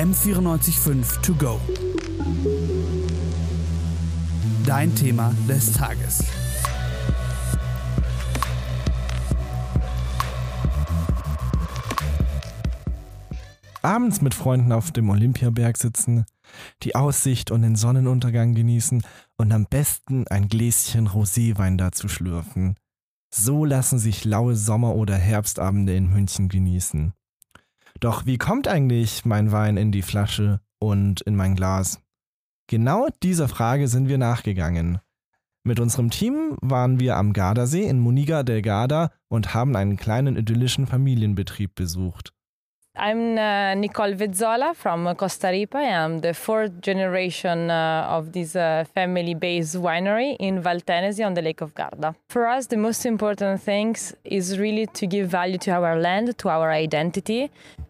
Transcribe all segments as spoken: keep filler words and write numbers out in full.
M vierundneunzig Komma fünf To Go. Dein Thema des Tages. Abends mit Freunden auf dem Olympiaberg sitzen, die Aussicht und den Sonnenuntergang genießen und am besten ein Gläschen Roséwein dazu schlürfen. So lassen sich laue Sommer- oder Herbstabende in München genießen. Doch wie kommt eigentlich mein Wein in die Flasche und in mein Glas? Genau dieser Frage sind wir nachgegangen. Mit unserem Team waren wir am Gardasee in Muniga del Garda und haben einen kleinen idyllischen Familienbetrieb besucht. I'm uh, Nicole Vezzola from Costa Rica. I'm the fourth generation uh, of this uh, family-based winery in Valtenesi on the Lake of Garda. For us, the most important thing is really to give value to our land, to our identity.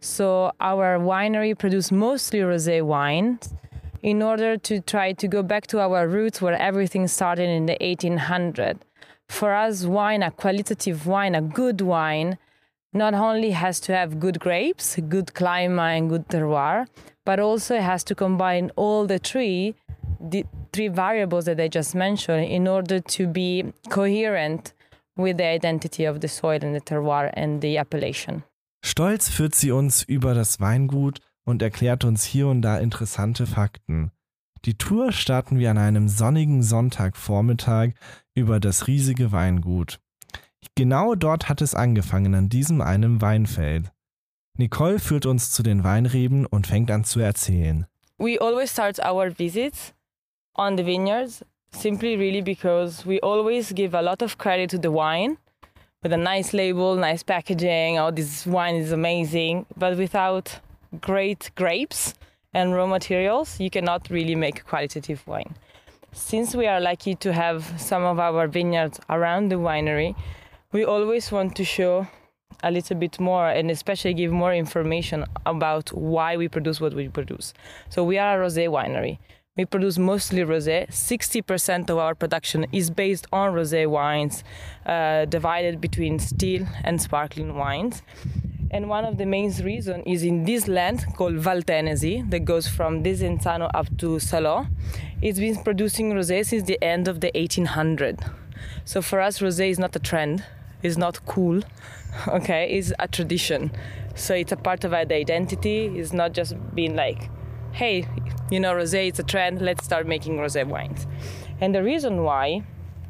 So our winery produces mostly rosé wines in order to try to go back to our roots where everything started in the eighteen hundreds. For us, wine, a qualitative wine, a good wine, not only has to have good grapes, good climate and good terroir, but also it has to combine all the three, the three variables that I just mentioned in order to be coherent with the identity of the soil and the terroir and the appellation. Stolz führt sie uns über das Weingut und erklärt uns hier und da interessante Fakten. Die Tour starten wir an einem sonnigen Sonntagvormittag über das riesige Weingut. Genau dort hat es angefangen, an diesem einem Weinfeld. Nicole führt uns zu den Weinreben und fängt an zu erzählen. We always start our visits on the vineyards, simply really because we always give a lot of credit to the wine, with a nice label, nice packaging, oh, this wine is amazing, but without great grapes and raw materials, you cannot really make a qualitative wine. Since we are lucky to have some of our vineyards around the winery, we always want to show a little bit more and especially give more information about why we produce what we produce. So we are a rosé winery. We produce mostly rosé. sixty percent of our production is based on rosé wines, uh, divided between still and sparkling wines. And one of the main reasons is in this land called Valtenesi that goes from Desenzano up to Salò. It's been producing rosé since the end of the eighteen hundreds. So for us, rosé is not a trend. It's not cool, okay? It's a tradition. So it's a part of our identity. It's not just being like, hey, you know, rosé is a trend, let's start making rosé wines. And the reason why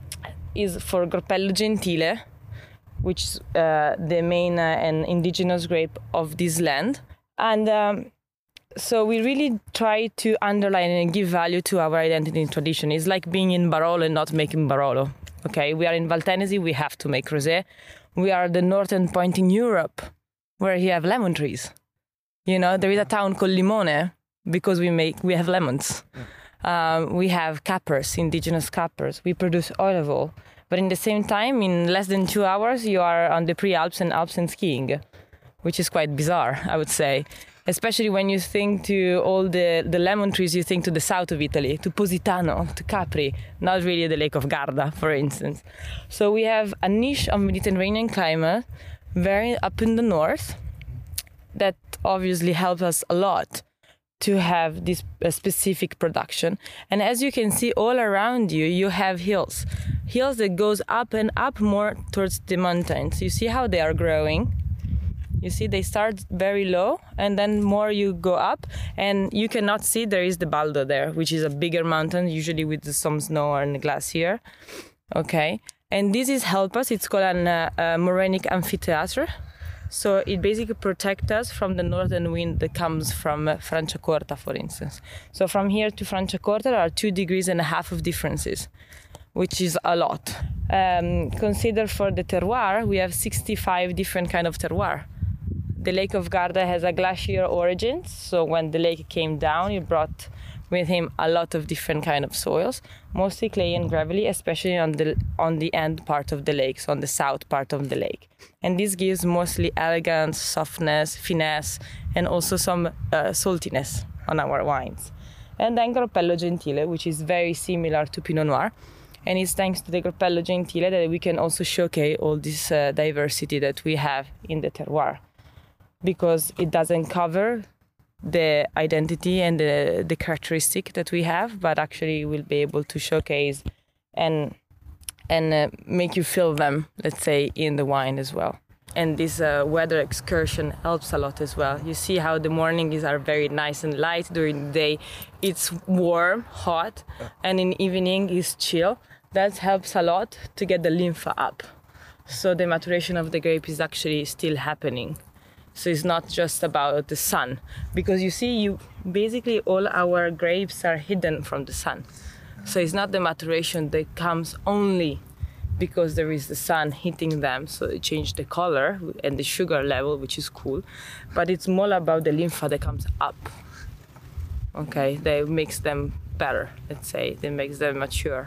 is for Groppello Gentile, which is uh, the main uh, and indigenous grape of this land. And um, so we really try to underline and give value to our identity and tradition. It's like being in Barolo and not making Barolo. Okay, we are in Valtenesi, we have to make rosé. We are the northern point in Europe where you have lemon trees. You know, there is a town called Limone because we make we have lemons. Um, we have capers, indigenous capers. We produce olive oil. But in the same time, in less than two hours, you are on the pre-Alps and Alps and skiing, which is quite bizarre, I would say. Especially when you think to all the, the lemon trees, you think to the south of Italy, to Positano, to Capri, not really the Lake of Garda, for instance. So we have a niche of Mediterranean climate, very up in the north, that obviously helps us a lot to have this uh, specific production. And as you can see all around you, you have hills. Hills that goes up and up more towards the mountains. You see how they are growing. You see, they start very low, and then more you go up, and you cannot see there is the Baldo there, which is a bigger mountain, usually with some snow and glacier. Okay, and this is help us. It's called an uh, uh, morainic amphitheater. So it basically protects us from the northern wind that comes from uh, Franciacorta, for instance. So from here to Franciacorta, there are two degrees and a half of differences, which is a lot. Um, consider for the terroir, we have sixty-five different kind of terroir. The Lake of Garda has a glacier origin, so when the lake came down, it brought with him a lot of different kind of soils, mostly clay and gravelly, especially on the on the end part of the lake, so on the south part of the lake. And this gives mostly elegance, softness, finesse, and also some uh, saltiness on our wines. And then Groppello Gentile, which is very similar to Pinot Noir. And it's thanks to the Groppello Gentile that we can also showcase all this uh, diversity that we have in the terroir. Because it doesn't cover the identity and the, the characteristic that we have, but actually we'll be able to showcase and and uh, make you feel them, let's say, in the wine as well. And this uh, weather excursion helps a lot as well. You see how the mornings are very nice and light. During the day, it's warm, hot, and in the evening, it's chill. That helps a lot to get the lymph up. So the maturation of the grape is actually still happening. So it's not just about the sun. Because you see, you basically all our grapes are hidden from the sun. So it's not the maturation that comes only because there is the sun hitting them, so it changes the color and the sugar level, which is cool. But it's more about the lymph that comes up. Okay, that makes them better, let's say. That makes them mature.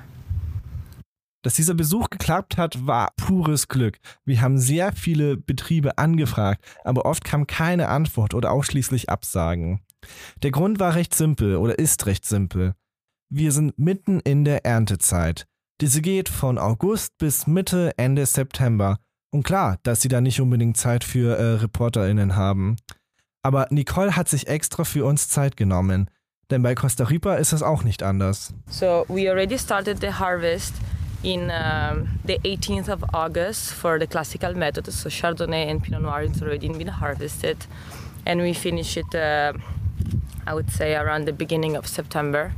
Dass dieser Besuch geklappt hat, war pures Glück. Wir haben sehr viele Betriebe angefragt, aber oft kam keine Antwort oder ausschließlich Absagen. Der Grund war recht simpel oder ist recht simpel. Wir sind mitten in der Erntezeit. Diese geht von August bis Mitte, Ende September. Und klar, dass sie da nicht unbedingt Zeit für äh, ReporterInnen haben. Aber Nicole hat sich extra für uns Zeit genommen. Denn bei Costa Rica ist es auch nicht anders. So we already started the harvest in um, the eighteenth of August for the classical method. So Chardonnay and Pinot Noir is already been harvested. And we finish it, uh, I would say, around the beginning of September.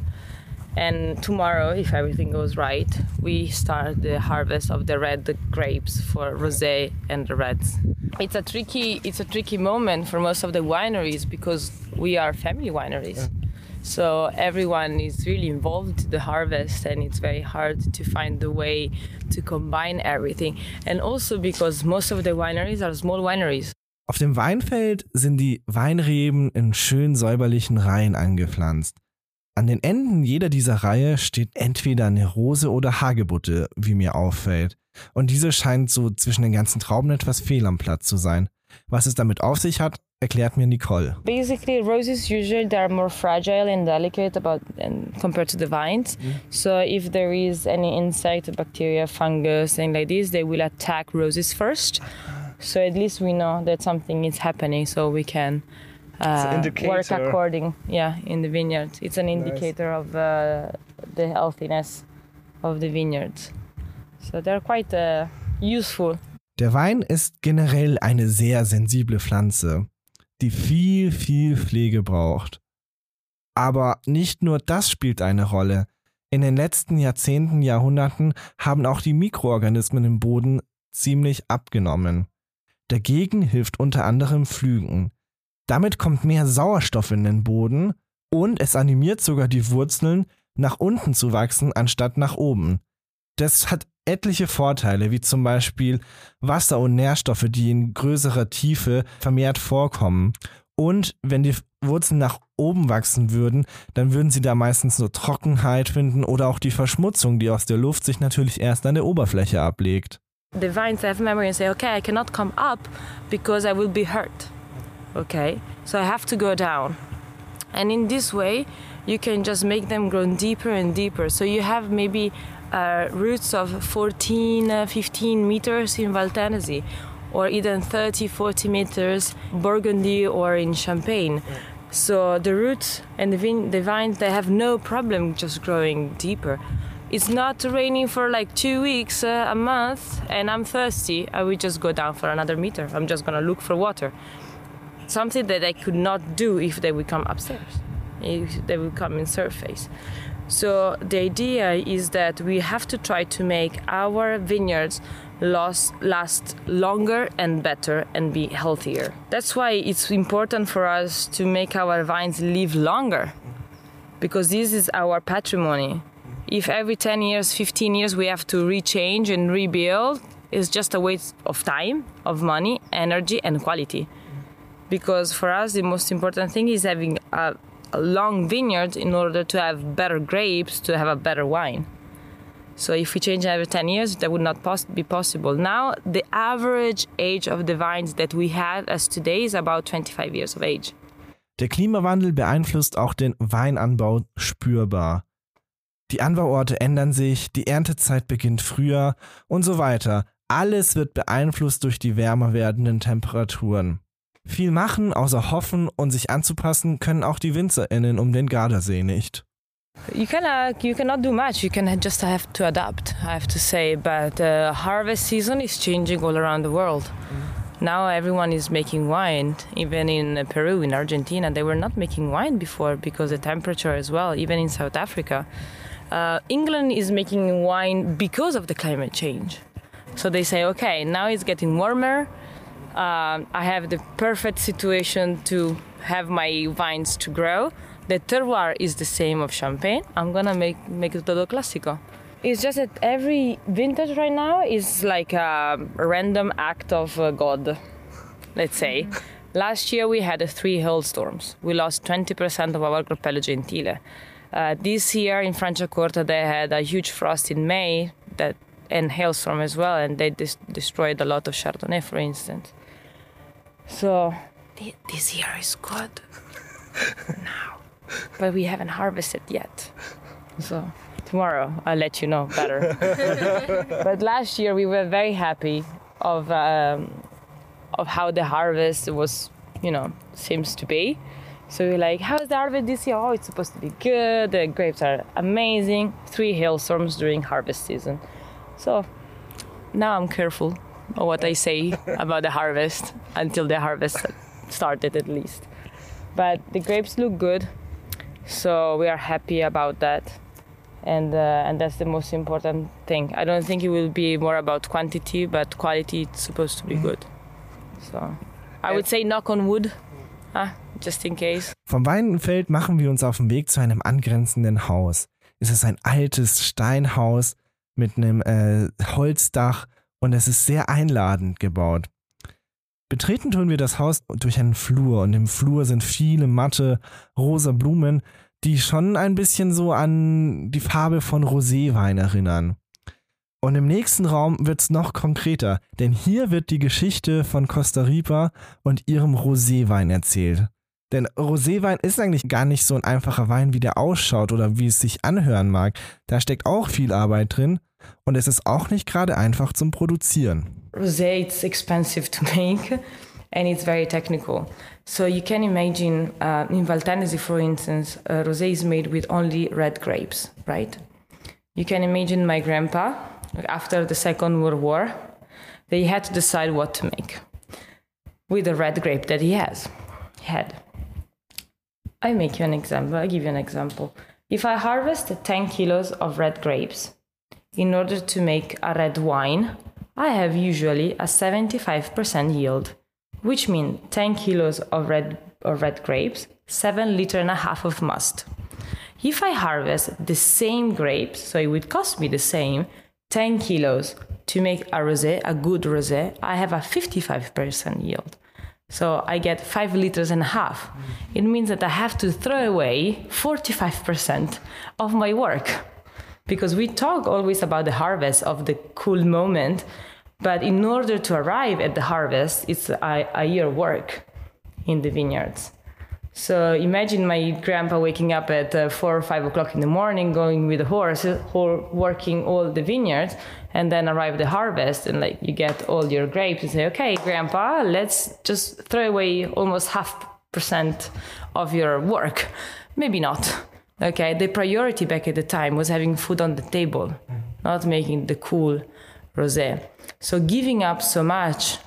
And tomorrow, if everything goes right, we start the harvest of the red grapes for rosé and the reds. It's a tricky, it's a tricky moment for most of the wineries because we are family wineries. Yeah. So everyone is really involved in the harvest, and it's very hard to find the way to combine everything. And also because most of the wineries are small wineries. Auf dem Weinfeld sind die Weinreben in schön säuberlichen Reihen angepflanzt. An den Enden jeder dieser Reihe steht entweder eine Rose oder Hagebutte, wie mir auffällt. Und diese scheint so zwischen den ganzen Trauben etwas fehl am Platz zu sein. Was es damit auf sich hat, erklärt mir Nicole. Basically, roses usually they are more fragile and delicate about and compared to the vines. Mm. So if there is any insect, bacteria, fungus, and like this, they will attack roses first. So at least we know that something is happening, so we can uh, work according. Yeah, in the vineyard, it's an indicator nice. of uh, the healthiness of the vineyards. So they're quite uh, useful. Der Wein ist generell eine sehr sensible Pflanze, die viel, viel Pflege braucht. Aber nicht nur das spielt eine Rolle. In den letzten Jahrzehnten, Jahrhunderten haben auch die Mikroorganismen im Boden ziemlich abgenommen. Dagegen hilft unter anderem Pflügen. Damit kommt mehr Sauerstoff in den Boden und es animiert sogar die Wurzeln, nach unten zu wachsen, anstatt nach oben. Das hat etliche Vorteile, wie zum Beispiel Wasser und Nährstoffe, die in größerer Tiefe vermehrt vorkommen. Und wenn die Wurzeln nach oben wachsen würden, dann würden sie da meistens nur Trockenheit finden oder auch die Verschmutzung, die aus der Luft sich natürlich erst an der Oberfläche ablegt. The vines have memory and say, okay, I cannot come up because I will be hurt. Okay, so I have to go down. And in this way, you can just make them grow deeper and deeper. So you have maybe uh, roots of fourteen, uh, fifteen meters in Val Tennessee, or even thirty, forty meters Burgundy or in Champagne. So the roots and the, vine, the vines, they have no problem just growing deeper. It's not raining for like two weeks, uh, a month, and I'm thirsty. I will just go down for another meter. I'm just gonna look for water. Something that I could not do if they would come upstairs, if they would come in surface. So the idea is that we have to try to make our vineyards last, last longer and better and be healthier. That's why it's important for us to make our vines live longer, because this is our patrimony. If every ten years, fifteen years we have to rechange and rebuild, it's just a waste of time, of money, energy and quality. Because for us the most important thing is having a, a long vineyard in order to have better grapes, to have a better wine. So if we change every ten years, that would not pos- be possible. Now the average age of the vines that we have as today is about twenty-five years of age. Der Klimawandel beeinflusst auch den Weinanbau spürbar. Die Anbauorte ändern sich, die Erntezeit beginnt früher und so weiter. Alles wird beeinflusst durch die wärmer werdenden Temperaturen. Viel machen, außer hoffen und sich anzupassen, können auch die WinzerInnen um den Gardasee nicht. You cannot, you cannot do much. You can just have to adapt, I have to say. But the harvest season is changing all around the world. Mm. Now everyone is making wine. Even in Peru, in Argentina, they were not making wine before because the temperature as well. Even in South Africa, uh, England is making wine because of the climate change. So they say, okay, now it's getting warmer. Uh, I have the perfect situation to have my vines to grow. The terroir is the same of Champagne. I'm gonna make make it todo clásico. It's just that every vintage right now is like a random act of uh, God, let's say. Mm-hmm. Last year we had uh, three hailstorms. We lost twenty percent of our Grappello Gentile. Uh, this year in Franciacorta they had a huge frost in May that and hailstorm as well, and they dis- destroyed a lot of Chardonnay, for instance. So th- this year is good now. But we haven't harvested yet. So tomorrow I'll let you know better. But last year we were very happy of um, of how the harvest was, you know, seems to be. So we're like, how's the harvest this year? Oh, it's supposed to be good. The grapes are amazing. Three hailstorms during harvest season. So now I'm careful of what I say about the harvest until the harvest started at least. But the grapes look good. So we are happy about that, and uh, and that's the most important thing. I don't think it will be more about quantity, but quality is supposed to be good. So I would say knock on wood, ah, just in case. Vom Weinfeld machen wir uns auf den Weg zu einem angrenzenden Haus. Es ist ein altes Steinhaus mit einem äh, Holzdach und es ist sehr einladend gebaut. Betreten tun wir das Haus durch einen Flur und im Flur sind viele matte, rosa Blumen, die schon ein bisschen so an die Farbe von Roséwein erinnern. Und im nächsten Raum wird es noch konkreter, denn hier wird die Geschichte von Costa Rica und ihrem Roséwein erzählt. Denn Roséwein ist eigentlich gar nicht so ein einfacher Wein, wie der ausschaut oder wie es sich anhören mag. Da steckt auch viel Arbeit drin und es ist auch nicht gerade einfach zum Produzieren. Rosé, it's expensive to make and it's very technical. So you can imagine uh, in Valtennesi, for instance, uh, rosé is made with only red grapes, right? You can imagine my grandpa, after the Second World War, they had to decide what to make with the red grape that he has, had. I make you an example, I give you an example. If I harvest ten kilos of red grapes in order to make a red wine, I have usually a seventy-five percent yield, which means ten kilos of red, of red grapes, seven liter and a half of must. If I harvest the same grapes, so it would cost me the same, ten kilos to make a rosé, a good rosé, I have a fifty-five percent yield. So I get five liters and a half. It means that I have to throw away forty-five percent of my work. Because we talk always about the harvest of the cool moment, but in order to arrive at the harvest, it's a, a year work in the vineyards. So imagine my grandpa waking up at uh, four or five o'clock in the morning, going with the horse, or working all the vineyards, and then arrive the harvest, and like you get all your grapes and say, okay, grandpa, let's just throw away almost half percent of your work. Maybe not. Okay, the priority back at the time was having food on the table, not making the cool rosé. So giving up so much,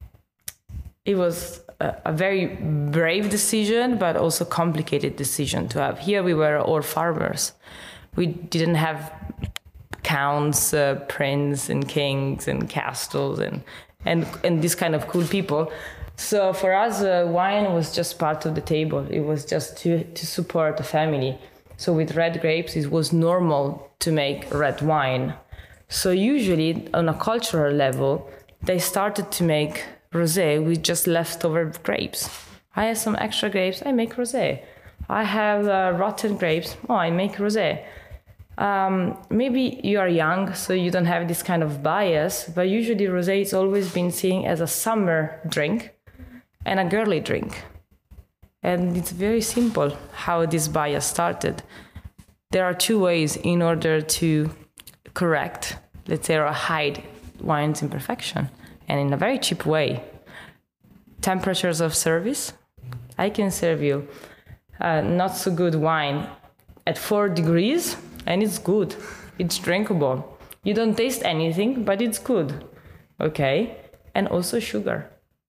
it was a, a very brave decision, but also complicated decision to have. Here we were all farmers. We didn't have counts, uh, princes and kings and castles and, and, and this kind of cool people. So for us, uh, wine was just part of the table. It was just to, to support the family. So with red grapes, it was normal to make red wine. So usually on a cultural level, they started to make rosé with just leftover grapes. I have some extra grapes, I make rosé. I have uh, rotten grapes, oh, I make rosé. Um, maybe you are young, so you don't have this kind of bias, but usually rosé has always been seen as a summer drink and a girly drink. And it's very simple how this bias started. There are two ways in order to correct, let's say, or hide wine's imperfection, and in a very cheap way. temperatures of service. I can serve you uh, not so good wine at four degrees, and it's good. It's drinkable. You don't taste anything, but it's good. Okay? And also sugar.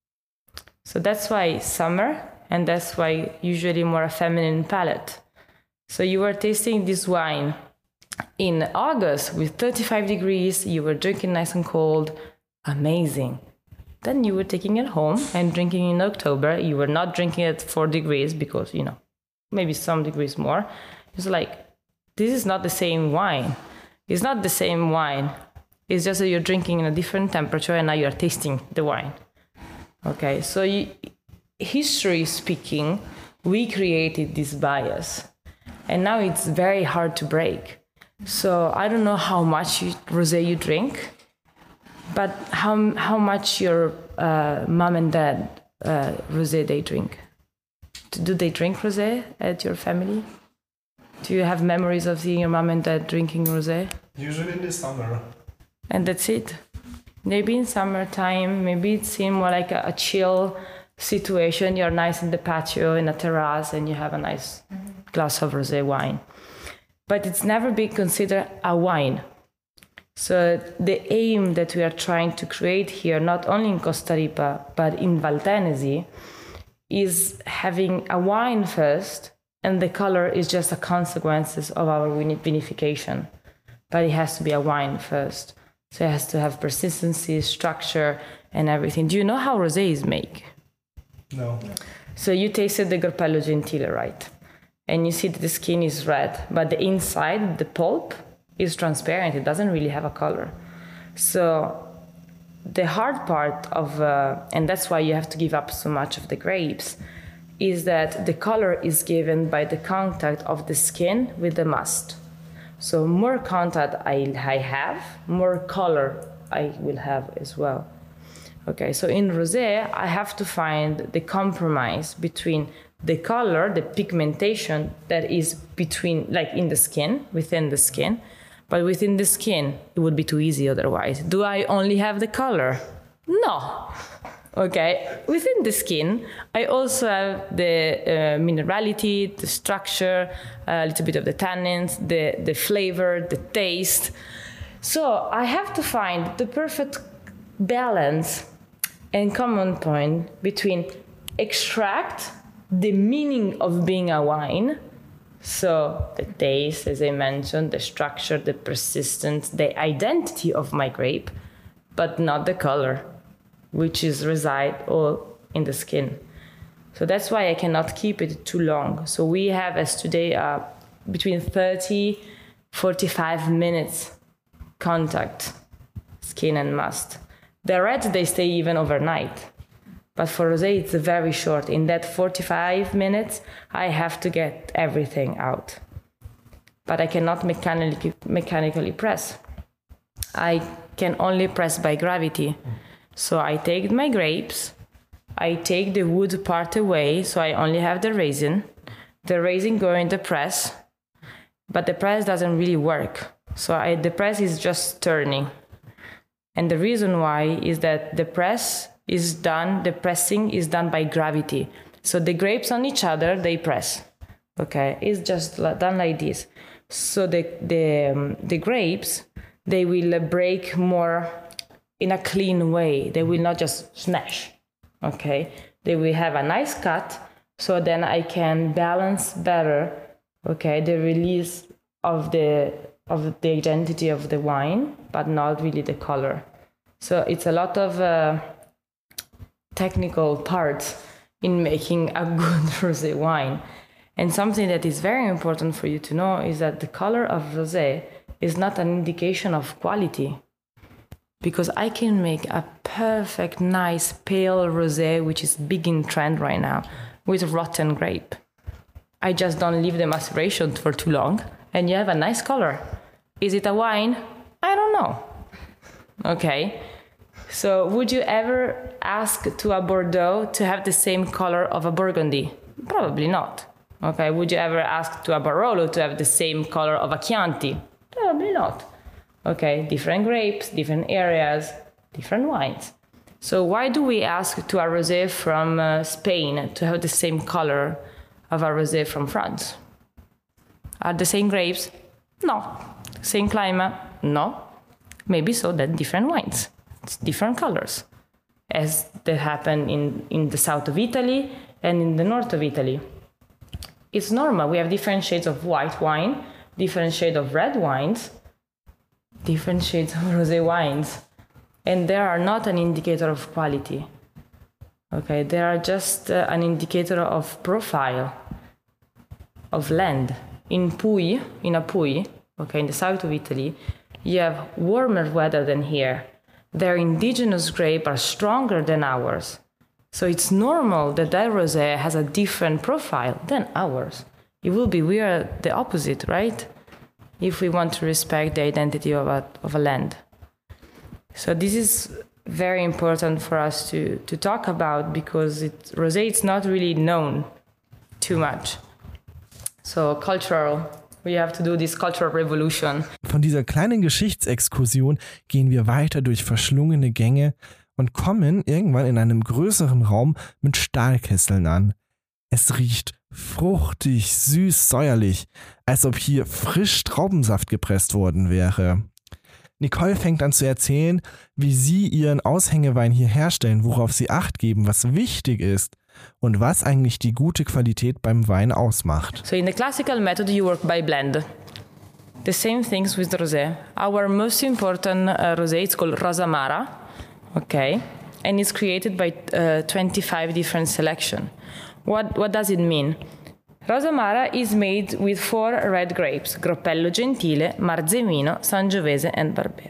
So that's why summer, and that's why usually more a feminine palate. So you were tasting this wine in August with thirty-five degrees, you were drinking nice and cold, amazing. Then you were taking it home and drinking in October. You were not drinking at four degrees because, you know, maybe some degrees more. It's like, this is not the same wine. It's not the same wine. It's just that you're drinking in a different temperature and now you're tasting the wine. Okay, so you, history speaking, we created this bias. And now it's very hard to break. So I don't know how much you, rosé you drink, but how how much your uh, mom and dad uh, rosé they drink? Do they drink rosé at your family? Do you have memories of seeing your mom and dad drinking rosé? Usually in the summer. And that's it. Maybe in summertime, maybe it seems more like a, a chill situation. You're nice in the patio, in a terrace, and you have a nice mm-hmm. glass of rosé wine. But it's never been considered a wine. So the aim that we are trying to create here, not only in Costa Rica, but in Val Tenesi, is having a wine first, and the color is just a consequence of our vinification. But it has to be a wine first. So it has to have persistency, structure, and everything. Do you know how rosé is made? No. So you tasted the Gruppello Gentile, right? And you see that the skin is red, but the inside, the pulp, is transparent. It doesn't really have a color. So the hard part of, uh, and that's why you have to give up so much of the grapes, is that the color is given by the contact of the skin with the must. So more contact I, I have, more color I will have as well. Okay, so in rosé, I have to find the compromise between the color, the pigmentation that is between, like in the skin, within the skin, but within the skin, it would be too easy otherwise. Do I only have the color? No. Okay, within the skin, I also have the uh, minerality, the structure, a little bit of the tannins, the, the flavor, the taste. So I have to find the perfect balance and common point between extract the meaning of being a wine, so the taste, as I mentioned, the structure, the persistence, the identity of my grape, but not the color, which is reside all in the skin. So that's why I cannot keep it too long. So we have as today uh, between thirty, forty-five minutes contact, skin and must. The reds, they stay even overnight. But for rosé, it's very short. In that forty-five minutes, I have to get everything out. But I cannot mechanically, mechanically press. I can only press by gravity. So I take my grapes, I take the wood part away, so I only have the resin. The resin go in the press, but the press doesn't really work. So I, the press is just turning. And the reason why is that the press is done, the pressing is done by gravity. So the grapes on each other, they press. Okay, it's just done like this. So the the um, the grapes, they will break more in a clean way. They will not just smash. Okay, they will have a nice cut. So then I can balance better. Okay, the release of the of the identity of the wine, but not really the color. So it's a lot of uh, technical parts in making a good rosé wine. And something that is very important for you to know is that the color of rosé is not an indication of quality. Because I can make a perfect, nice, pale rosé, which is big in trend right now, with rotten grape. I just don't leave the maceration for too long, and you have a nice color. Is it a wine? I don't know. Okay. So would you ever ask to a Bordeaux to have the same color of a Burgundy? Probably not. Okay. Would you ever ask to a Barolo to have the same color of a Chianti? Probably not. Okay. Different grapes, different areas, different wines. So why do we ask to a rosé from uh, Spain to have the same color of a rosé from France? Are the same grapes? No. Same climate? No. Maybe so, then different wines. It's different colors, as that happen in, in the south of Italy and in the north of Italy. It's normal. We have different shades of white wine, different shades of red wines, different shades of rosé wines. And they are not an indicator of quality. Okay, they are just uh, an indicator of profile, of land. In Puglia, in Apulia, okay, in the south of Italy, you have warmer weather than here. Their indigenous grapes are stronger than ours. So it's normal that that rosé has a different profile than ours. It will be weird, the opposite, right? If we want to respect the identity of a, of a land. So this is very important for us to, to talk about because it, rosé is not really known too much. So cultural, we have to do this cultural revolution. Von dieser kleinen Geschichtsexkursion gehen wir weiter durch verschlungene Gänge und kommen irgendwann in einem größeren Raum mit Stahlkesseln an. Es riecht fruchtig, süß, säuerlich, als ob hier frisch Traubensaft gepresst worden wäre. Nicole fängt an zu erzählen, wie sie ihren Aushängewein hier herstellen, worauf sie Acht geben, was wichtig ist und was eigentlich die gute Qualität beim Wein ausmacht. So in the classical method you work by blend. The same things with rosé. Our most important uh, rosé is called Rosamara, okay, and it's created by uh, twenty-five different selection. What what does it mean? Rosamara is made with four red grapes, Groppello Gentile, Marzemino, Sangiovese and Barbera.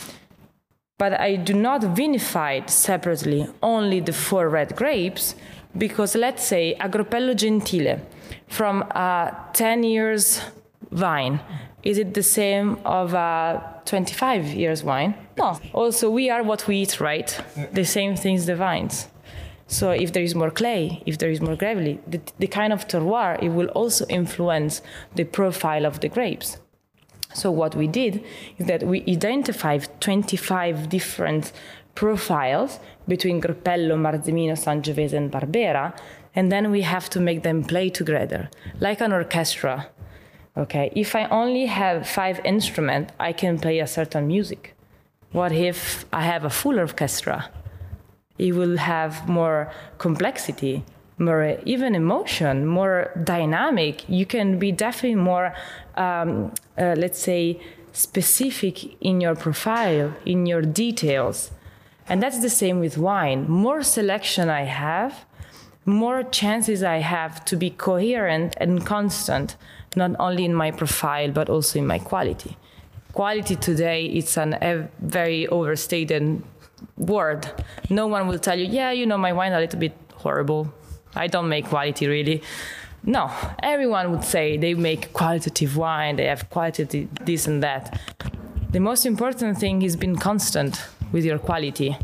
But I do not vinify separately only the four red grapes because let's say a Groppello Gentile from a ten years vine, is it the same of a twenty-five years wine? No. Also, we are what we eat, right? The same things, the vines. So if there is more clay, if there is more gravelly, the, the kind of terroir, it will also influence the profile of the grapes. So what we did is that we identified twenty-five different profiles between Groppello, Marzemino, Sangiovese and Barbera, and then we have to make them play together, like an orchestra. Okay, if I only have five instruments, I can play a certain music. What if I have a full orchestra? It will have more complexity, more even emotion, more dynamic. You can be definitely more, um, uh, let's say, specific in your profile, in your details. And that's the same with wine. More selection I have, more chances I have to be coherent and constant, not only in my profile, but also in my quality. Quality today, it's an, a very overstated word. No one will tell you, yeah, you know, my wine is a little bit horrible. I don't make quality really. No, everyone would say they make qualitative wine, they have quality this and that. The most important thing is being constant with your quality.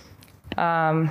Um,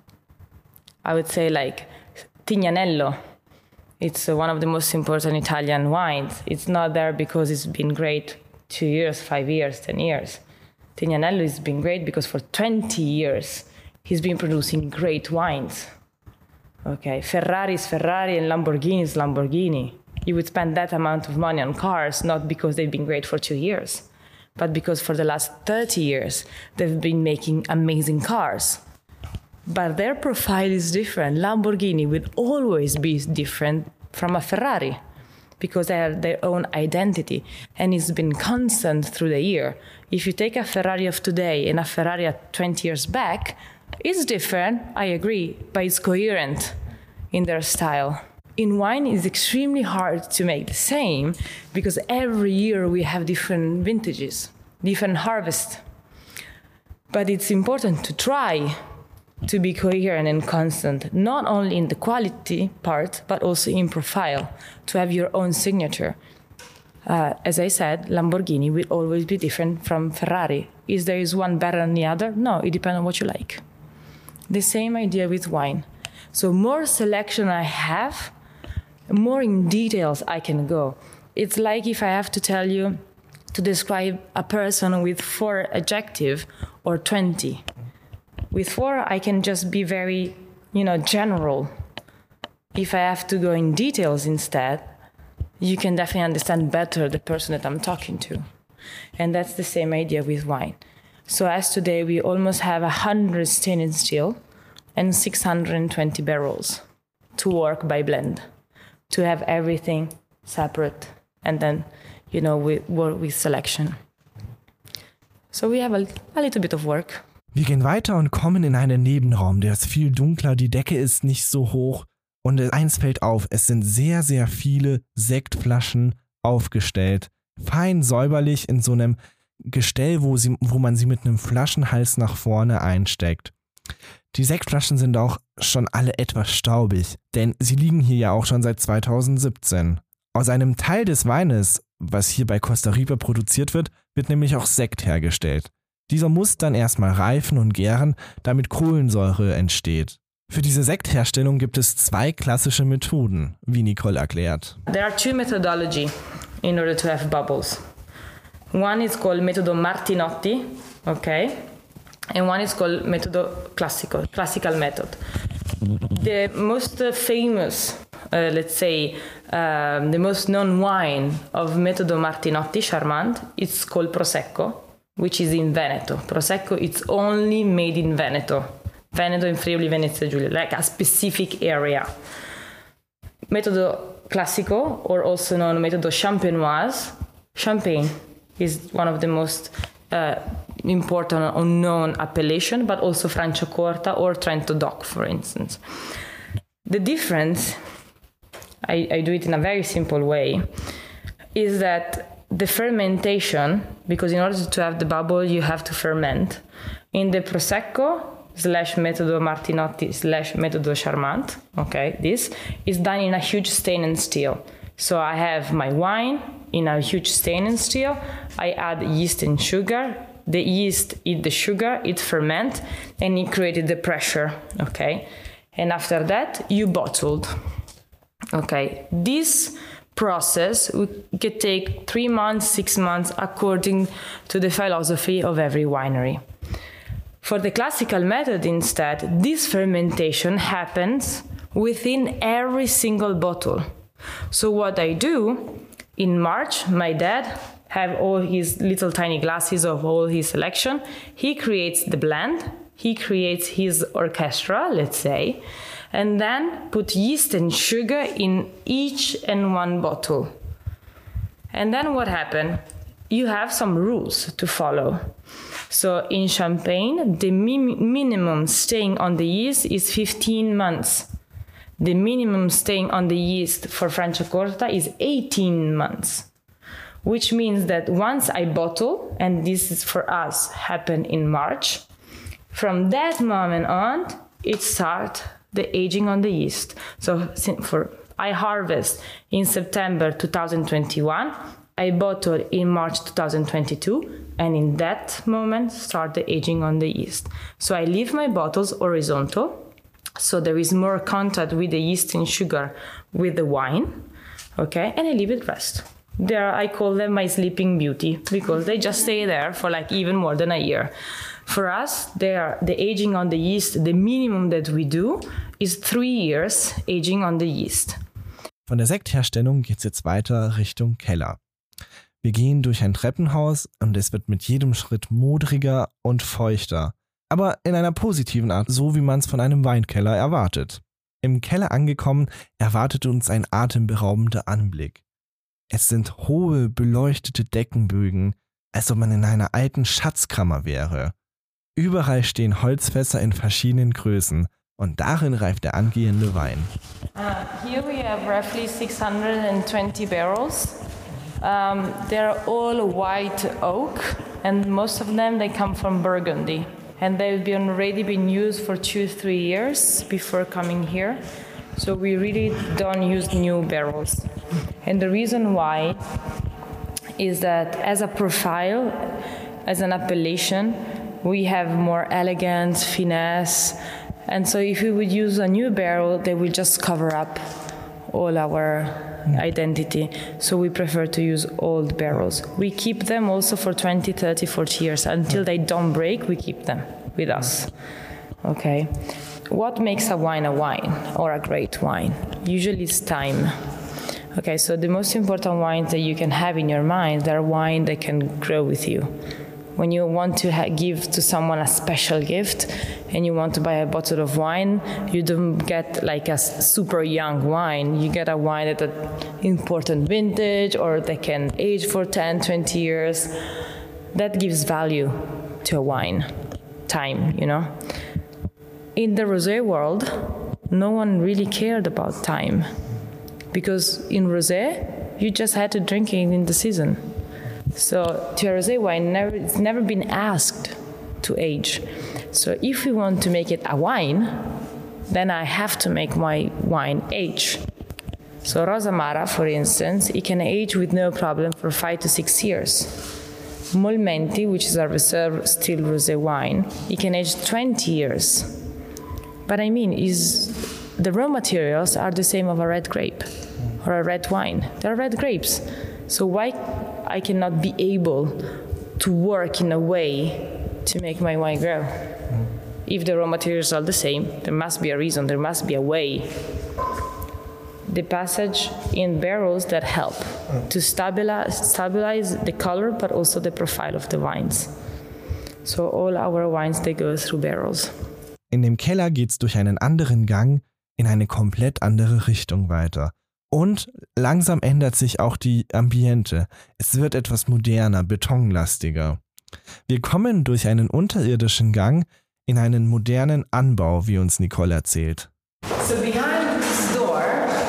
I would say like Tignanello. It's uh, one of the most important Italian wines. It's not there because it's been great two years, five years, ten years. Tignanello has been great because for twenty years he's been producing great wines. Okay, Ferrari is Ferrari and Lamborghini is Lamborghini. You would spend that amount of money on cars not because they've been great for two years, but because for the last thirty years they've been making amazing cars. But their profile is different. Lamborghini will always be different from a Ferrari because they have their own identity and it's been constant through the year. If you take a Ferrari of today and a Ferrari of twenty years back, it's different, I agree, but it's coherent in their style. In wine, it's extremely hard to make the same because every year we have different vintages, different harvests. But it's important to try to be coherent and constant, not only in the quality part, but also in profile, to have your own signature. Uh, as I said, Lamborghini will always be different from Ferrari. Is there is one better than the other? No, it depends on what you like. The same idea with wine. So more selection I have, more in details I can go. It's like if I have to tell you to describe a person with four adjectives or twenty. With four, I can just be very, you know, general. If I have to go in details instead, you can definitely understand better the person that I'm talking to. And that's the same idea with wine. So as today, we almost have one hundred stainless steel and six hundred twenty barrels to work by blend, to have everything separate, and then, you know, we work with selection. So we have a, a little bit of work. Wir gehen weiter und kommen in einen Nebenraum, der ist viel dunkler, die Decke ist nicht so hoch und eins fällt auf, es sind sehr, sehr viele Sektflaschen aufgestellt, fein säuberlich in so einem Gestell, wo, sie, wo man sie mit einem Flaschenhals nach vorne einsteckt. Die Sektflaschen sind auch schon alle etwas staubig, denn sie liegen hier ja auch schon seit zweitausendsiebzehn. Aus einem Teil des Weines, was hier bei Costa Rica produziert wird, wird nämlich auch Sekt hergestellt. Dieser muss dann erstmal reifen und gären, damit Kohlensäure entsteht. Für diese Sektherstellung gibt es zwei klassische Methoden, wie Nicole erklärt. There are two methodologies in order to have bubbles. One is called Metodo Martinotti, okay? And one is called Metodo Classico, classical method. The most uh, famous, uh, let's say, um, the most known wine of Metodo Martinotti, Charmant, it's called Prosecco, which is in Veneto. Prosecco, it's only made in Veneto. Veneto in Friuli, Venezia Giulia, like a specific area. Metodo Classico, or also known Metodo Champenoise, Champagne is one of the most uh, important unknown appellation, but also Franciacorta or Trento Doc, for instance. The difference, I, I do it in a very simple way, is that the fermentation, because in order to have the bubble, you have to ferment. In the Prosecco slash Metodo Martinotti slash Metodo Charmant, okay, this is done in a huge stainless steel. So I have my wine in a huge stainless steel. I add yeast and sugar. The yeast eat the sugar, it ferment, and it created the pressure, okay? And after that, you bottled, okay? This process could take three months, six months, according to the philosophy of every winery. For the classical method instead, this fermentation happens within every single bottle. So what I do, in March, my dad have all his little tiny glasses of all his selection. He creates the blend, he creates his orchestra, let's say, and then put yeast and sugar in each and one bottle. And then what happened? You have some rules to follow. So in Champagne, the mi- minimum staying on the yeast is fifteen months. The minimum staying on the yeast for Franciacorta is eighteen months, which means that once I bottle, and this is for us happened in March, from that moment on, it starts the aging on the yeast. So for I harvest in September twenty twenty-one, I bottle in March twenty twenty-two, and in that moment start the aging on the yeast. So I leave my bottles horizontal, so there is more contact with the yeast and sugar with the wine, okay, and I leave it rest. There, I call them my sleeping beauty because they just stay there for like even more than a year. For us, they are the aging on the yeast, the minimum that we do is three years aging on the yeast. Von der Sektherstellung geht es jetzt weiter Richtung Keller. Wir gehen durch ein Treppenhaus und es wird mit jedem Schritt modriger und feuchter. Aber in einer positiven Art, so wie man es von einem Weinkeller erwartet. Im Keller angekommen, erwartet uns ein atemberaubender Anblick. Es sind hohe, beleuchtete Deckenbögen, als ob man in einer alten Schatzkammer wäre. Überall stehen Holzfässer in verschiedenen Größen und darin reift der angehende Wein. Uh, here we have roughly six hundred twenty barrels. Um, they're all white oak, and most of them they come from Burgundy. And they've been already been used for two, three years before coming here. So we really don't use new barrels. And the reason why is that as a profile, as an appellation, we have more elegance, finesse. And so if we would use a new barrel, they will just cover up all our identity. So we prefer to use old barrels. We keep them also for twenty, thirty, forty years. Until they don't break, we keep them with us. Okay. What makes a wine a wine or a great wine? Usually it's time. Okay, so the most important wines that you can have in your mind, they're wine that can grow with you. When you want to ha- give to someone a special gift and you want to buy a bottle of wine, you don't get like a super young wine. You get a wine at an important vintage or that can age for ten, twenty years. That gives value to a wine, time, you know. In the rosé world, no one really cared about time because in rosé, you just had to drink it in the season. So to a rosé wine, never, it's never been asked to age. So if we want to make it a wine, then I have to make my wine age. So Rosa Mara, for instance, it can age with no problem for five to six years. Molmenti, which is a reserve still rosé wine, it can age twenty years. But I mean, is the raw materials are the same of a red grape or a red wine. They're red grapes. So why I cannot be able to work in a way to make my wine grow? Mm. If the raw materials are the same, there must be a reason, there must be a way. The passage in barrels that help mm. to stabilize, stabilize the color, but also the profile of the wines. So all our wines, they go through barrels. In dem Keller geht's durch einen anderen Gang in eine komplett andere Richtung weiter. Und langsam ändert sich auch die Ambiente. Es wird etwas moderner, betonlastiger. Wir kommen durch einen unterirdischen Gang in einen modernen Anbau, wie uns Nicole erzählt. So behind this door,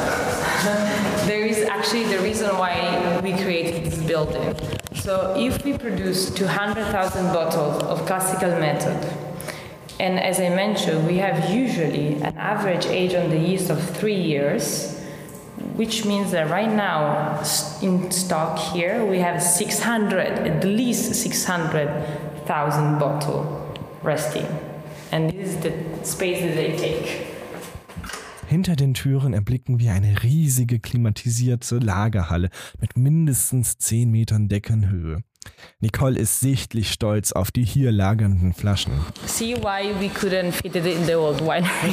there is actually the reason why we created this building. So if we produce two hundred thousand bottles of classical method, and as I mentioned, we have usually an average age on the yeast of three years, which means that right now in stock here we have six hundred, at least six hundred thousand bottles resting. And this is the space that they take. Hinter den Türen erblicken wir eine riesige klimatisierte Lagerhalle mit mindestens zehn Metern Deckenhöhe. Nicole ist sichtlich stolz auf die hier lagernden Flaschen. See why we couldn't fit it in the old winery.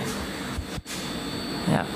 Yeah.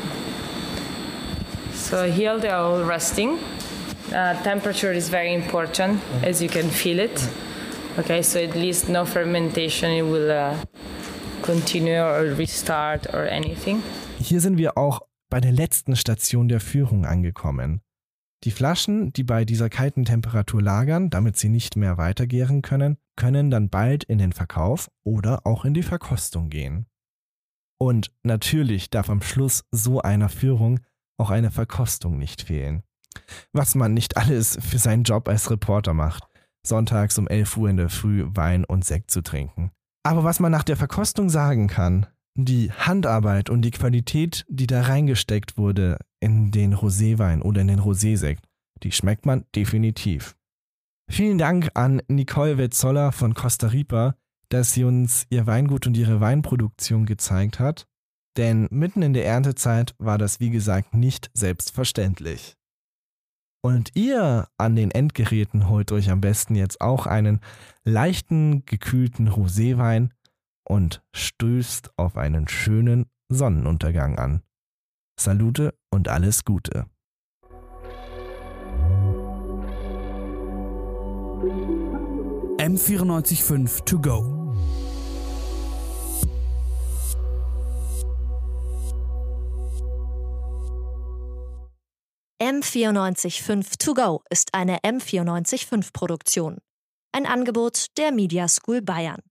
So here they're all resting. Uh, temperature is very important, as you can feel it. Okay, so at least no fermentation, it will uh, continue or restart or anything. Hier sind wir auch bei der letzten Station der Führung angekommen. Die Flaschen, die bei dieser kalten Temperatur lagern, damit sie nicht mehr weitergären können, können dann bald in den Verkauf oder auch in die Verkostung gehen. Und natürlich darf am Schluss so einer Führung auch eine Verkostung nicht fehlen. Was man nicht alles für seinen Job als Reporter macht, sonntags um elf Uhr in der Früh Wein und Sekt zu trinken. Aber was man nach der Verkostung sagen kann, die Handarbeit und die Qualität, die da reingesteckt wurde in den Roséwein oder in den Rosésekt, die schmeckt man definitiv. Vielen Dank an Nicole Wetzoller von Costa Ripa, dass sie uns ihr Weingut und ihre Weinproduktion gezeigt hat, denn mitten in der Erntezeit war das wie gesagt nicht selbstverständlich. Und ihr an den Endgeräten holt euch am besten jetzt auch einen leichten, gekühlten Roséwein und stößt auf einen schönen Sonnenuntergang an. Salute und alles Gute. M vierundneunzig Komma fünf to go. M vierundneunzig Komma fünf to go ist eine M vierundneunzig Komma fünf Produktion. Ein Angebot der Media School Bayern.